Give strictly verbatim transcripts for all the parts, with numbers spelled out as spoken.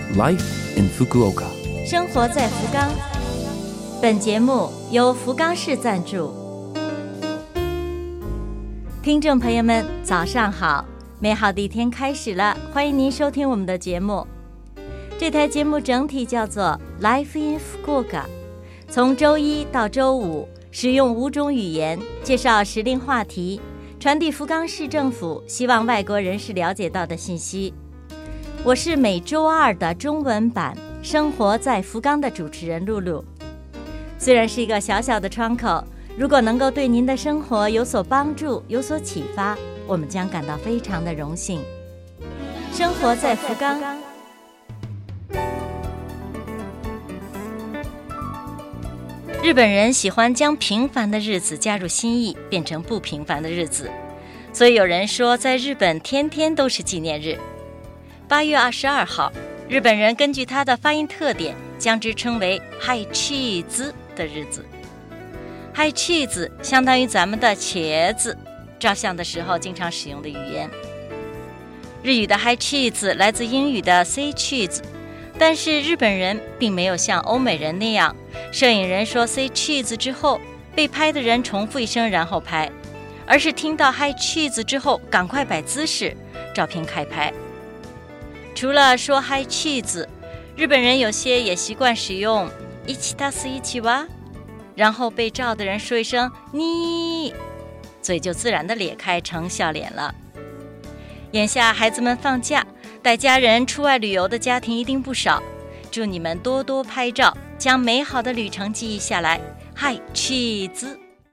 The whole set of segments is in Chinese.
Life in Fukuoka， 生活在福冈。本节目由福冈市赞助。听众朋友们，早上好！美好的一天开始了，欢迎您收听我们的节目。这台节目整体叫做 Life in Fukuoka， 从周一到周五，使用五种语言介绍时令话题，传递福冈市政府希望外国人士了解到的信息。我是每周二的中文版生活在福冈的主持人露露。虽然是一个小小的窗口，如果能够对您的生活有所帮助，有所启发，我们将感到非常的荣幸。生活在福冈。日本人喜欢将平凡的日子加入新意，变成不平凡的日子，所以有人说在日本天天都是纪念日。八月二十二号，日本人根据它的发音特点，将之称为嗨气子的日子。嗨气子相当于咱们的茄子，照相的时候经常使用的语言。日语的嗨气子来自英语的 say cheese， 但是日本人并没有像欧美人那样，摄影人说 say cheese 之后，被拍的人重复一声然后拍，而是听到嗨cheese之后赶快摆姿势，照片开拍。除了说嗨cheese，日本人有些也习惯使用一起たす一起哇，然后被照的人说一声你，嘴就自然的咧开成笑脸了。眼下孩子们放假，带家人出外旅游的家庭一定不少，祝你们多多拍照，将美好的旅程记忆下来。嗨cheese，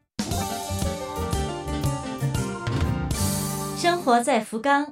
生活在福冈。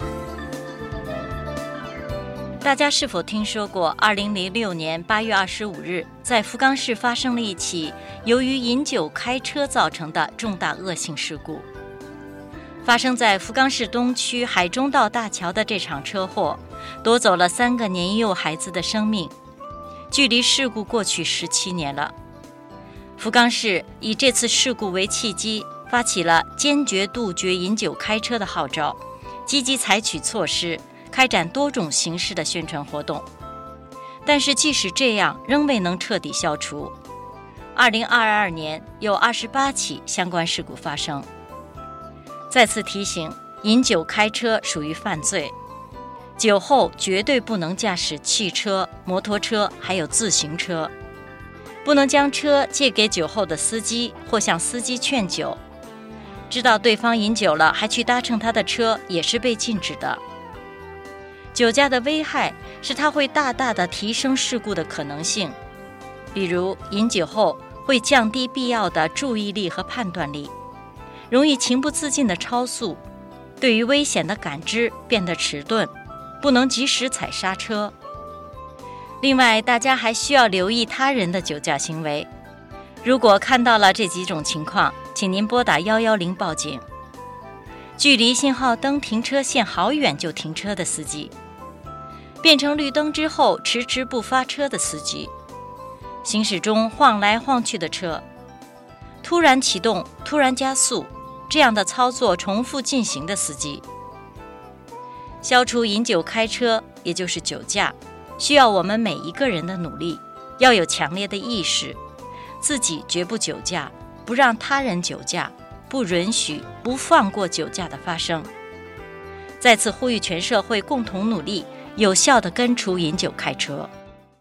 大家是否听说过二零零六年八月二十五日在福冈市发生了一起由于饮酒开车造成的重大恶性事故？发生在福冈市东区海中道大桥的这场车祸夺走了三个年幼孩子的生命，距离事故过去十七年了。福冈市以这次事故为契机，发起了坚决杜绝饮酒开车的号召，积极采取措施，开展多种形式的宣传活动。但是即使这样，仍未能彻底消除。二零二二年有二十八起相关事故发生。再次提醒，饮酒开车属于犯罪，酒后绝对不能驾驶汽车、摩托车还有自行车，不能将车借给酒后的司机或向司机劝酒，知道对方饮酒了还去搭乘他的车也是被禁止的。酒驾的危害是它会大大的提升事故的可能性，比如饮酒后会降低必要的注意力和判断力，容易情不自禁的超速，对于危险的感知变得迟钝，不能及时踩刹车。另外，大家还需要留意他人的酒驾行为，如果看到了这几种情况，请您拨打一一零报警。距离信号灯停车线好远就停车的司机，变成绿灯之后迟迟不发车的司机，行驶中晃来晃去的车，突然启动突然加速，这样的操作重复进行的司机。消除饮酒开车，也就是酒驾，需要我们每一个人的努力，要有强烈的意识，自己绝不酒驾，不让他人酒驾，不允许不放过酒驾的发生。再次呼吁全社会共同努力，有效地根除饮酒开车。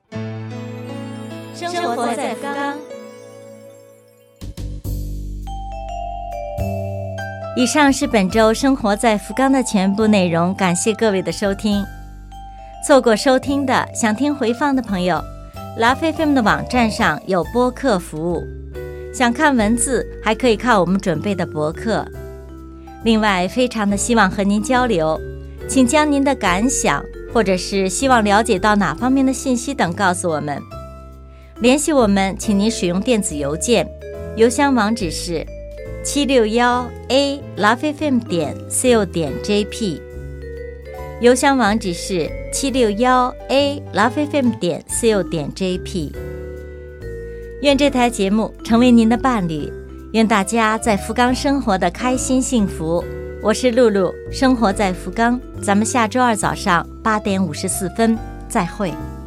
生活在福冈。以上是本周生活在福冈的全部内容，感谢各位的收听。错过收听的，想听回放的朋友 Love F M 的网站上有播客服务，想看文字还可以看我们准备的博客。另外非常的希望和您交流，请将您的感想或者是希望了解到哪方面的信息等告诉我们。联系我们请您使用电子邮件，邮箱网址是七六一 a love f m 点 co 点 jp， 邮箱网址是七六一 a love f m 点 co 点 jp。 愿这台节目成为您的伴侣，愿大家在福冈生活的开心幸福。我是露露，生活在福冈，咱们下周二早上八点五十四分再会。